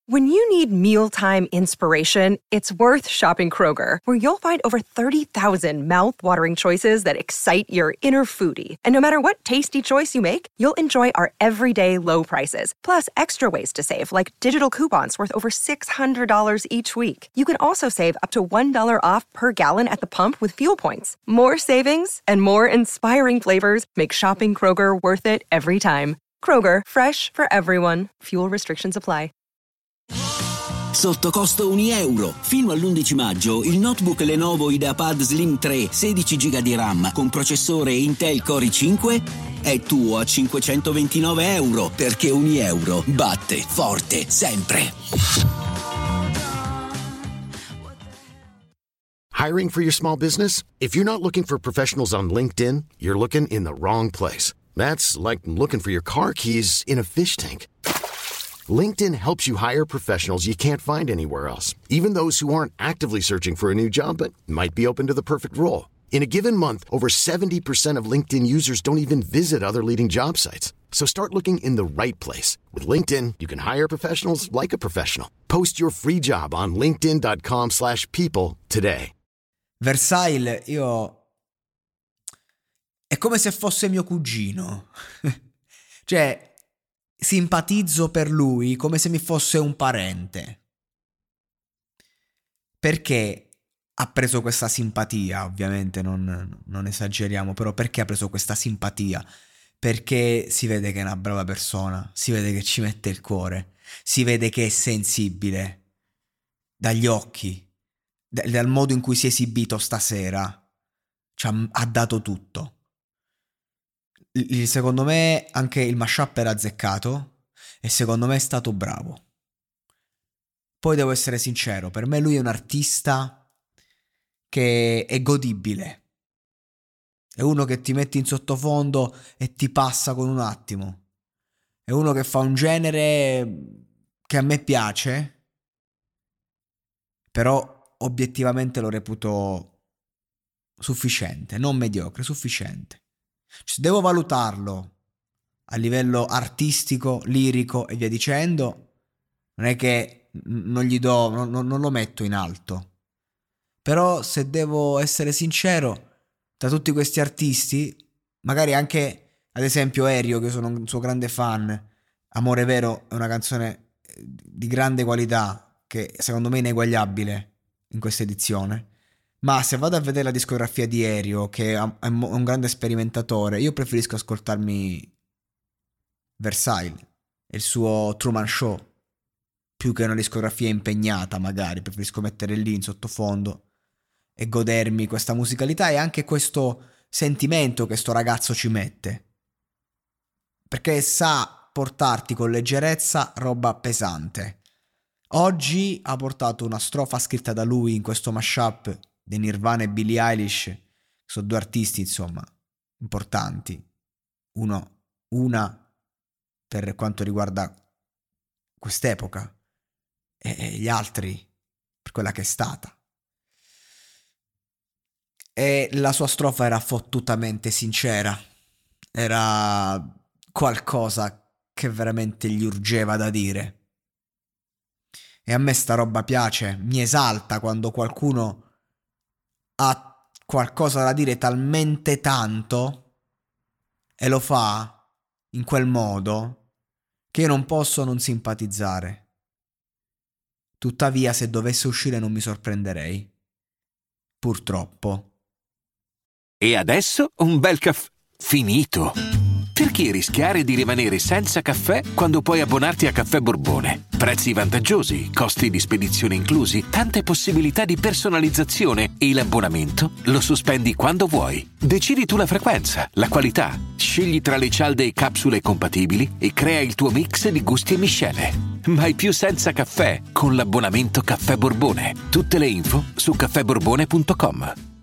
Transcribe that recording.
When you need mealtime inspiration, it's worth shopping Kroger, where you'll find over 30,000 mouth-watering choices that excite your inner foodie. And no matter what tasty choice you make, you'll enjoy our everyday low prices, plus extra ways to save, like digital coupons worth over $600 each week. You can also save up to $1 off per gallon at the pump with fuel points. More savings and more inspiring flavors make shopping Kroger worth it every time. Kroger, fresh for everyone. Fuel restrictions apply. Sotto costo €1. Fino all'11 maggio il notebook Lenovo IdeaPad Slim 3 16 GB di RAM con processore Intel Core i5 è tuo a €529, perché €1 batte forte sempre. Hiring for your small business? If you're not looking for professionals on LinkedIn, you're looking in the wrong place. That's like looking for your car keys in a fish tank. LinkedIn helps you hire professionals you can't find anywhere else, even those who aren't actively searching for a new job but might be open to the perfect role. In a given month, over 70% of LinkedIn users don't even visit other leading job sites. So start looking in the right place. With LinkedIn, you can hire professionals like a professional. Post your free job on linkedin.com/people today. Versailles, è come se fosse mio cugino. Cioè, simpatizzo per lui come se mi fosse un parente. Perché ha preso questa simpatia? Ovviamente non esageriamo, però perché ha preso questa simpatia? Perché si vede che è una brava persona, si vede che ci mette il cuore, si vede che è sensibile dagli occhi, dal modo in cui si è esibito stasera, ha dato tutto. Secondo me anche il mashup era azzeccato e secondo me è stato bravo. Poi devo essere sincero, per me lui è un artista che è godibile. È uno che ti metti in sottofondo e ti passa con un attimo. È uno che fa un genere che a me piace, però obiettivamente lo reputo sufficiente, non mediocre, sufficiente. Se devo valutarlo a livello artistico, lirico e via dicendo, non è che non gli do, non lo metto in alto. Però se devo essere sincero, tra tutti questi artisti, magari anche ad esempio Erio, che sono un suo grande fan, Amore Vero è una canzone di grande qualità che secondo me è ineguagliabile in questa edizione. Ma se vado a vedere la discografia di Erio, che è un grande sperimentatore, io preferisco ascoltarmi Versailles e il suo Truman Show più che una discografia impegnata. Magari preferisco mettere lì in sottofondo e godermi questa musicalità e anche questo sentimento che sto ragazzo ci mette, perché sa portarti con leggerezza roba pesante. Oggi ha portato una strofa scritta da lui in questo mashup di Nirvana e Billie Eilish, che sono due artisti insomma importanti, una per quanto riguarda quest'epoca e gli altri per quella che è stata. E la sua strofa era fottutamente sincera, era qualcosa che veramente gli urgeva da dire. E a me sta roba piace, mi esalta quando qualcuno ha qualcosa da dire talmente tanto e lo fa in quel modo che io non posso non simpatizzare. Tuttavia, se dovesse uscire non mi sorprenderei. Purtroppo. E adesso un bel caffè finito. Perché rischiare di rimanere senza caffè quando puoi abbonarti a Caffè Borbone? Prezzi vantaggiosi, costi di spedizione inclusi, tante possibilità di personalizzazione e l'abbonamento lo sospendi quando vuoi. Decidi tu la frequenza, la qualità, scegli tra le cialde e capsule compatibili e crea il tuo mix di gusti e miscele. Mai più senza caffè con l'abbonamento Caffè Borbone. Tutte le info su caffèborbone.com.